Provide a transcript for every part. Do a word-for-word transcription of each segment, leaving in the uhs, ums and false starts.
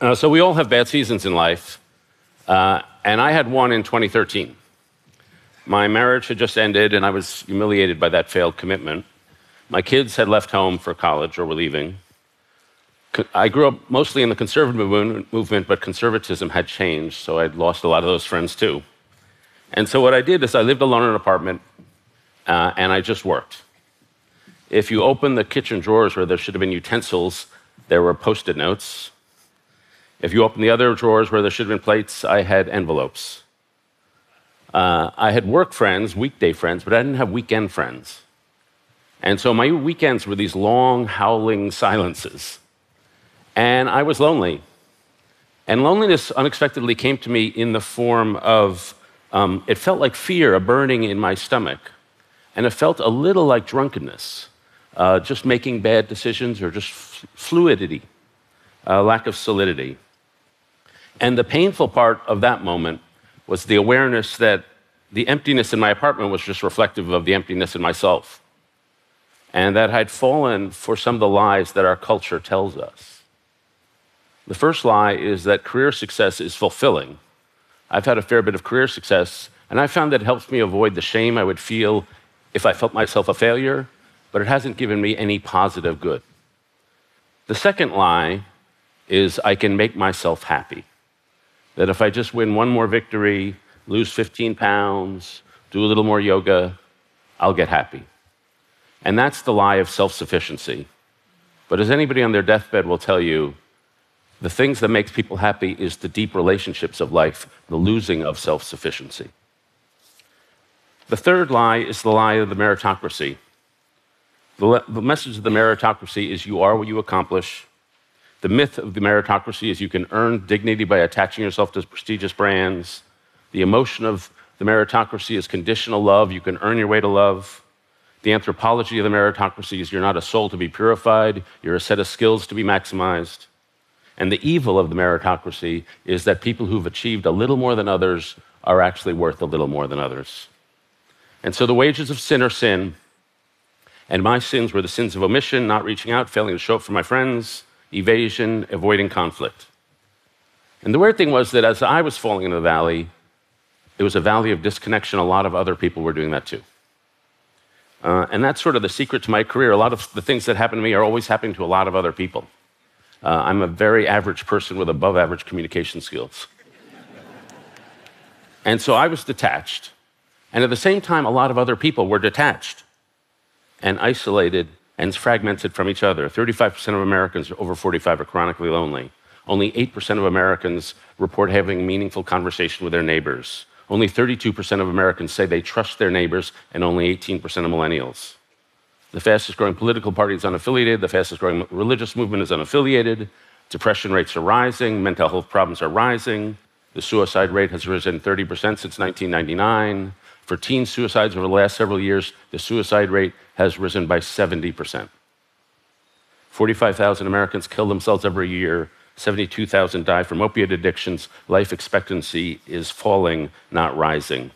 Uh, so we all have bad seasons in life, uh, and I had one in twenty thirteen. My marriage had just ended, and I was humiliated by that failed commitment. My kids had left home for college or were leaving. I grew up mostly in the conservative movement, but conservatism had changed, so I'd lost a lot of those friends too. And so what I did is I lived alone in an apartment, uh, and I just worked. If you open the kitchen drawers where there should have been utensils, there were Post-it notes. If you open the other drawers where there should have been plates, I had envelopes. Uh, I had work friends, weekday friends, but I didn't have weekend friends. And so my weekends were these long, howling silences. And I was lonely. And loneliness unexpectedly came to me in the form of, um, it felt like fear, a burning in my stomach. And it felt a little like drunkenness, uh, just making bad decisions or just fluidity, a lack of solidity. And the painful part of that moment was the awareness that the emptiness in my apartment was just reflective of the emptiness in myself, and that I'd fallen for some of the lies that our culture tells us. The first lie is that career success is fulfilling. I've had a fair bit of career success, and I found that it helps me avoid the shame I would feel if I felt myself a failure, but it hasn't given me any positive good. The second lie is I can make myself happy. That if I just win one more victory, lose fifteen pounds, do a little more yoga, I'll get happy. And that's the lie of self-sufficiency. But as anybody on their deathbed will tell you, the things that makes people happy is the deep relationships of life, the losing of self-sufficiency. The third lie is the lie of the meritocracy. The, the message of the meritocracy is you are what you accomplish. The myth of the meritocracy is you can earn dignity by attaching yourself to prestigious brands. The emotion of the meritocracy is conditional love. You can earn your way to love. The anthropology of the meritocracy is you're not a soul to be purified. You're a set of skills to be maximized. And the evil of the meritocracy is that people who've achieved a little more than others are actually worth a little more than others. And so the wages of sin are sin. And my sins were the sins of omission, not reaching out, failing to show up for my friends, evasion, avoiding conflict. And the weird thing was that as I was falling into the valley, it was a valley of disconnection. A lot of other people were doing that too. Uh, and that's sort of the secret to my career. A lot of the things that happen to me are always happening to a lot of other people. Uh, I'm a very average person with above average communication skills. And so I was detached. And at the same time, a lot of other people were detached and isolated and fragmented from each other. thirty-five percent of Americans over forty-five are chronically lonely. Only eight percent of Americans report having meaningful conversation with their neighbors. Only thirty-two percent of Americans say they trust their neighbors, and only eighteen percent of millennials. The fastest growing political party is unaffiliated. The fastest growing religious movement is unaffiliated. Depression rates are rising. Mental health problems are rising. The suicide rate has risen thirty percent since nineteen ninety-nine. For teen suicides over the last several years, the suicide rate has risen by seventy percent. forty-five thousand Americans kill themselves every year. seventy-two thousand die from opiate addictions. Life expectancy is falling, not rising.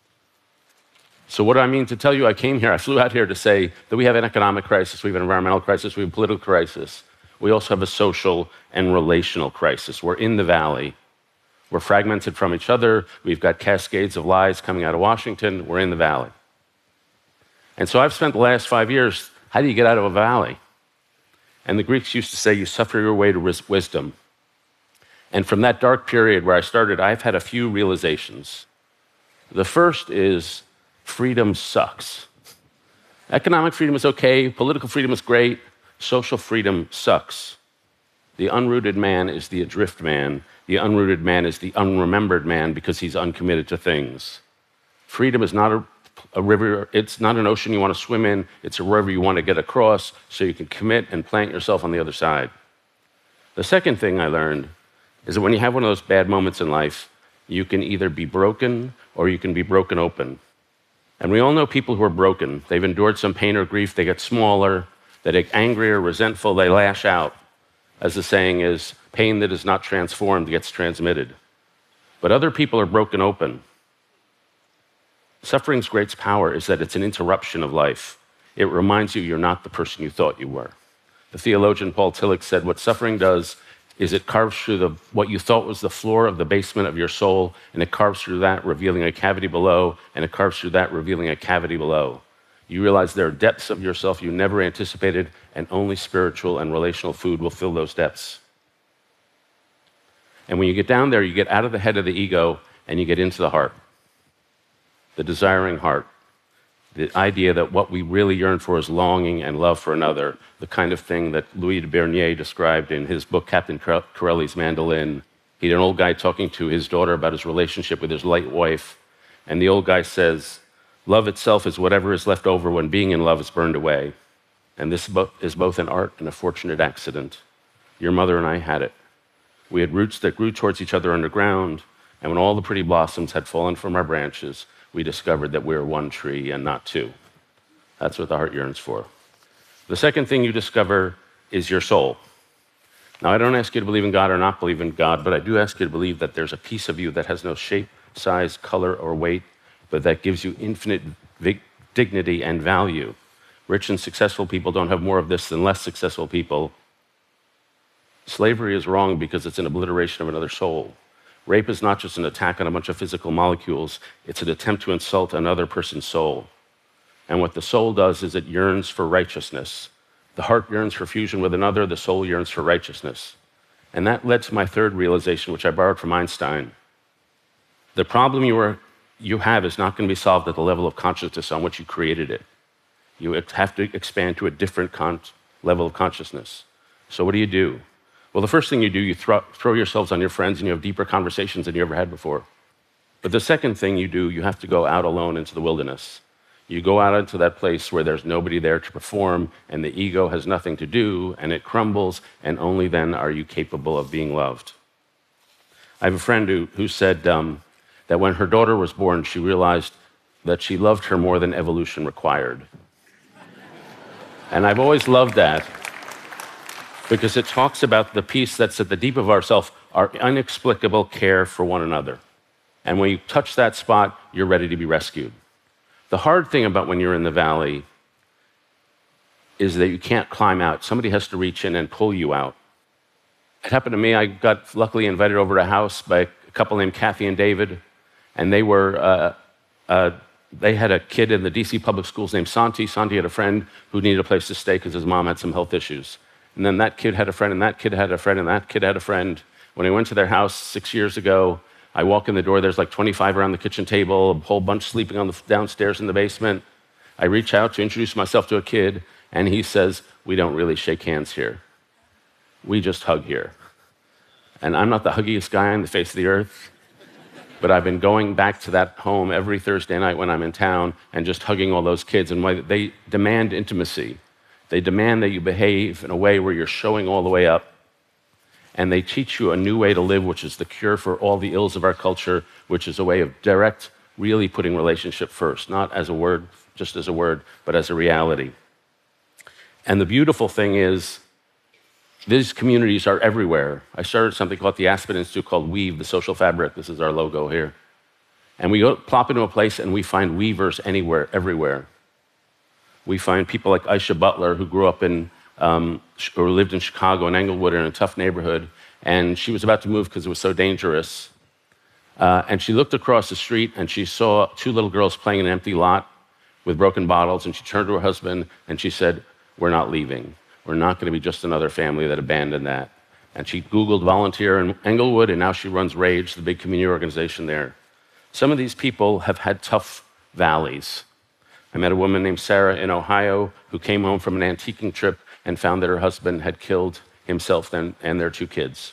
So what do I mean to tell you? I came here, I flew out here to say that we have an economic crisis, we have an environmental crisis, we have a political crisis. We also have a social and relational crisis. We're in the valley. We're fragmented from each other. We've got cascades of lies coming out of Washington. We're in the valley. And so I've spent the last five years, how do you get out of a valley? And the Greeks used to say, you suffer your way to wisdom. And from that dark period where I started, I've had a few realizations. The first is freedom sucks. Economic freedom is okay. Political freedom is great. Social freedom sucks. The unrooted man is the adrift man. The unrooted man is the unremembered man because he's uncommitted to things. Freedom is not a, a river, it's not an ocean you want to swim in, it's a river you want to get across so you can commit and plant yourself on the other side. The second thing I learned is that when you have one of those bad moments in life, you can either be broken or you can be broken open. And we all know people who are broken. They've endured some pain or grief, they get smaller, they get angrier, resentful, they lash out. As the saying is, pain that is not transformed gets transmitted. But other people are broken open. Suffering's greatest power is that it's an interruption of life. It reminds you you're not the person you thought you were. The theologian Paul Tillich said, what suffering does is it carves through the, what you thought was the floor of the basement of your soul, and it carves through that, revealing a cavity below, and it carves through that, revealing a cavity below. You realize there are depths of yourself you never anticipated, and only spiritual and relational food will fill those depths. And when you get down there, you get out of the head of the ego, and you get into the heart, the desiring heart. The idea that what we really yearn for is longing and love for another, the kind of thing that Louis de Bernier described in his book, Captain Corelli's Mandolin. He had an old guy talking to his daughter about his relationship with his late wife, and the old guy says, love itself is whatever is left over when being in love is burned away. And this is both an art and a fortunate accident. Your mother and I had it. We had roots that grew towards each other underground, and when all the pretty blossoms had fallen from our branches, we discovered that we were one tree and not two. That's what the heart yearns for. The second thing you discover is your soul. Now, I don't ask you to believe in God or not believe in God, but I do ask you to believe that there's a piece of you that has no shape, size, color, or weight, but that gives you infinite dignity and value. Rich and successful people don't have more of this than less successful people. Slavery is wrong because it's an obliteration of another soul. Rape is not just an attack on a bunch of physical molecules, it's an attempt to insult another person's soul. And what the soul does is it yearns for righteousness. The heart yearns for fusion with another, the soul yearns for righteousness. And that led to my third realization, which I borrowed from Einstein. The problem you, are, you have is not going to be solved at the level of consciousness on which you created it. You have to expand to a different con- level of consciousness. So what do you do? Well, the first thing you do, you throw, throw yourselves on your friends and you have deeper conversations than you ever had before. But the second thing you do, you have to go out alone into the wilderness. You go out into that place where there's nobody there to perform and the ego has nothing to do and it crumbles, and only then are you capable of being loved. I have a friend who, who said um, that when her daughter was born, she realized that she loved her more than evolution required. And I've always loved that, because it talks about the piece that's at the deep of ourself, our inexplicable care for one another. And when you touch that spot, you're ready to be rescued. The hard thing about when you're in the valley is that you can't climb out. Somebody has to reach in and pull you out. It happened to me. I got luckily invited over to a house by a couple named Kathy and David, and they were, uh, uh, they had a kid in the D C public schools named Santi. Santi had a friend who needed a place to stay because his mom had some health issues. And then that kid had a friend, and that kid had a friend, and that kid had a friend. When I went to their house six years ago, I walk in the door, there's like twenty-five around the kitchen table, a whole bunch sleeping on the downstairs in the basement. I reach out to introduce myself to a kid, and he says, we don't really shake hands here. We just hug here. And I'm not the huggiest guy on the face of the earth, but I've been going back to that home every Thursday night when I'm in town and just hugging all those kids, and they demand intimacy. They demand that you behave in a way where you're showing all the way up. And they teach you a new way to live, which is the cure for all the ills of our culture, which is a way of direct, really putting relationship first, not as a word, just as a word, but as a reality. And the beautiful thing is, these communities are everywhere. I started something called the Aspen Institute called Weave, the social fabric. This is our logo here. And we go plop into a place and we find weavers anywhere, everywhere. We find people like Aisha Butler, who grew up in, um, or lived in Chicago, in Englewood, in a tough neighborhood, and she was about to move because it was so dangerous. Uh, and she looked across the street and she saw two little girls playing in an empty lot with broken bottles, and she turned to her husband and she said, we're not leaving. We're not going to be just another family that abandoned that. And she Googled volunteer in Englewood, and now she runs RAGE, the big community organization there. Some of these people have had tough valleys. I met a woman named Sarah in Ohio who came home from an antiquing trip and found that her husband had killed himself and, and their two kids.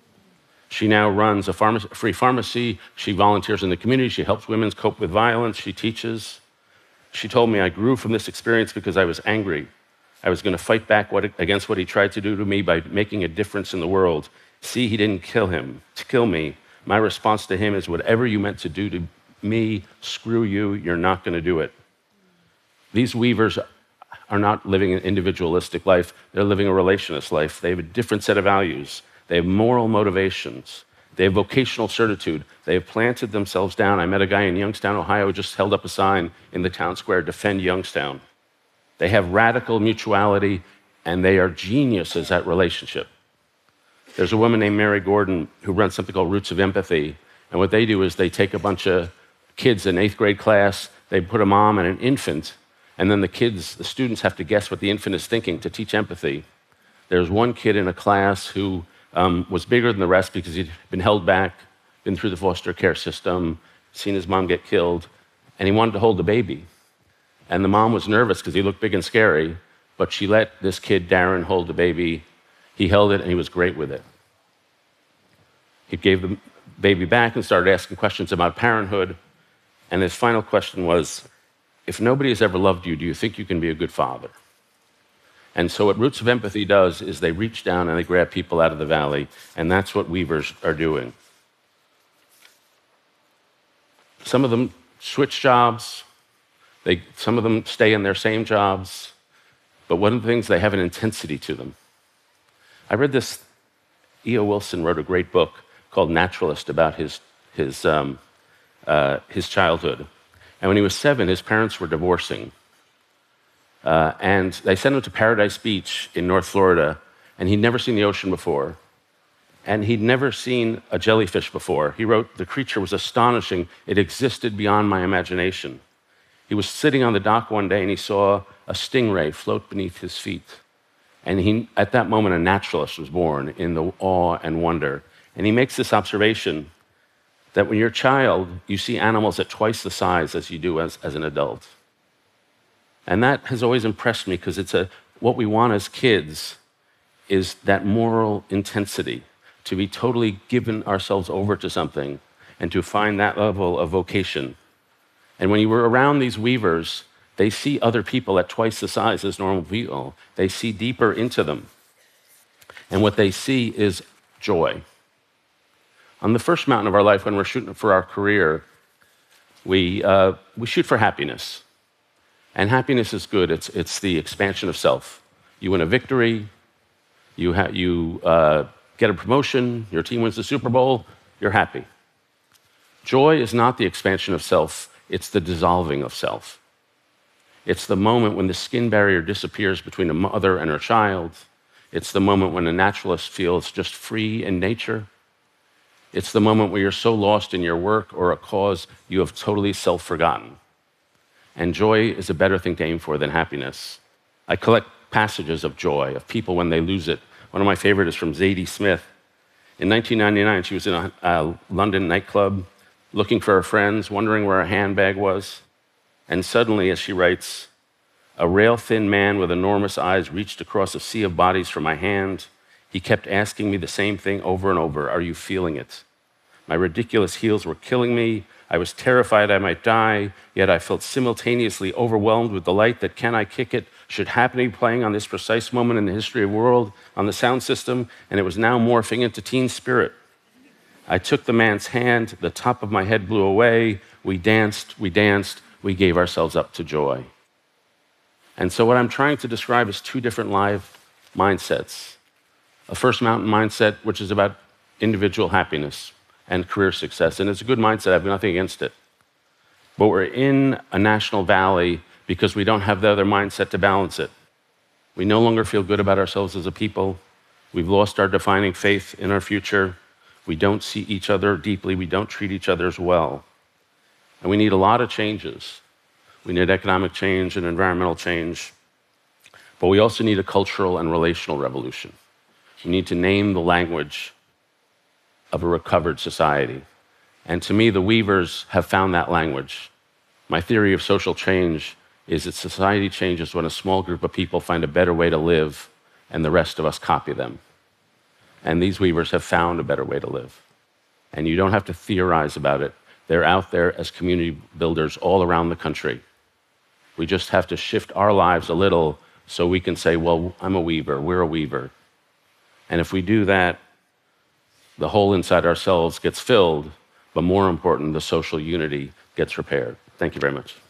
She now runs a pharma- free pharmacy. She volunteers in the community. She helps women cope with violence. She teaches. She told me, I grew from this experience because I was angry. I was going to fight back what, against what he tried to do to me by making a difference in the world. See, he didn't kill him, to kill me. My response to him is, whatever you meant to do to me, screw you, you're not going to do it. These weavers are not living an individualistic life. They're living a relationist life. They have a different set of values. They have moral motivations. They have vocational certitude. They have planted themselves down. I met a guy in Youngstown, Ohio, who just held up a sign in the town square, defend Youngstown. They have radical mutuality, and they are geniuses at relationship. There's a woman named Mary Gordon who runs something called Roots of Empathy. And what they do is they take a bunch of kids in eighth grade class, they put a mom and an infant, and then the kids, the students have to guess what the infant is thinking to teach empathy. There's one kid in a class who um, was bigger than the rest because he'd been held back, been through the foster care system, seen his mom get killed, and he wanted to hold the baby. And the mom was nervous because he looked big and scary, but she let this kid, Darren, hold the baby. He held it, and he was great with it. He gave the baby back and started asking questions about parenthood. And his final question was, if nobody has ever loved you, do you think you can be a good father? And so what Roots of Empathy does is they reach down and they grab people out of the valley, and that's what Weavers are doing. Some of them switch jobs. They, some of them stay in their same jobs. But one of the things, they have an intensity to them. I read this, E O Wilson wrote a great book called Naturalist about his, his, um, uh, his childhood. And when he was seven, his parents were divorcing. Uh, and they sent him to Paradise Beach in North Florida, and he'd never seen the ocean before. And he'd never seen a jellyfish before. He wrote, the creature was astonishing. It existed beyond my imagination. He was sitting on the dock one day, and he saw a stingray float beneath his feet. And he, at that moment, a naturalist was born in the awe and wonder. And he makes this observation that when you're a child, you see animals at twice the size as you do as, as an adult. And that has always impressed me because it's a, what we want as kids is that moral intensity, to be totally given ourselves over to something and to find that level of vocation. And when you were around these weavers, they see other people at twice the size as normal people. They see deeper into them. And what they see is joy. On the first mountain of our life, when we're shooting for our career, we, uh, we shoot for happiness. And happiness is good. It's, it's the expansion of self. You win a victory, you, ha- you uh, get a promotion, your team wins the Super Bowl, you're happy. Joy is not the expansion of self, it's the dissolving of self. It's the moment when the skin barrier disappears between a mother and her child. It's the moment when a naturalist feels just free in nature. It's the moment where you're so lost in your work or a cause you have totally self-forgotten. And joy is a better thing to aim for than happiness. I collect passages of joy, of people when they lose it. One of my favorites is from Zadie Smith. In nineteen ninety-nine, she was in a, a London nightclub looking for her friends, wondering where her handbag was. And suddenly, as she writes, a rail-thin man with enormous eyes reached across a sea of bodies for my hand. He kept asking me the same thing over and over, are you feeling it? My ridiculous heels were killing me. I was terrified I might die, yet I felt simultaneously overwhelmed with delight that Can I Kick It should happen to be playing on this precise moment in the history of the world on the sound system, and it was now morphing into Teen Spirit. I took the man's hand, the top of my head blew away, we danced, we danced, we gave ourselves up to joy. And so what I'm trying to describe is two different live mindsets. A First Mountain mindset, which is about individual happiness and career success, and it's a good mindset, I have nothing against it. But we're in a national valley because we don't have the other mindset to balance it. We no longer feel good about ourselves as a people. We've lost our defining faith in our future. We don't see each other deeply. We don't treat each other as well. And we need a lot of changes. We need economic change and environmental change. But we also need a cultural and relational revolution. We need to name the language of a recovered society. And to me, the Weavers have found that language. My theory of social change is that society changes when a small group of people find a better way to live and the rest of us copy them. And these Weavers have found a better way to live. And you don't have to theorize about it. They're out there as community builders all around the country. We just have to shift our lives a little so we can say, well, I'm a Weaver, we're a Weaver. And if we do that, the hole inside ourselves gets filled, but more important, the social unity gets repaired. Thank you very much.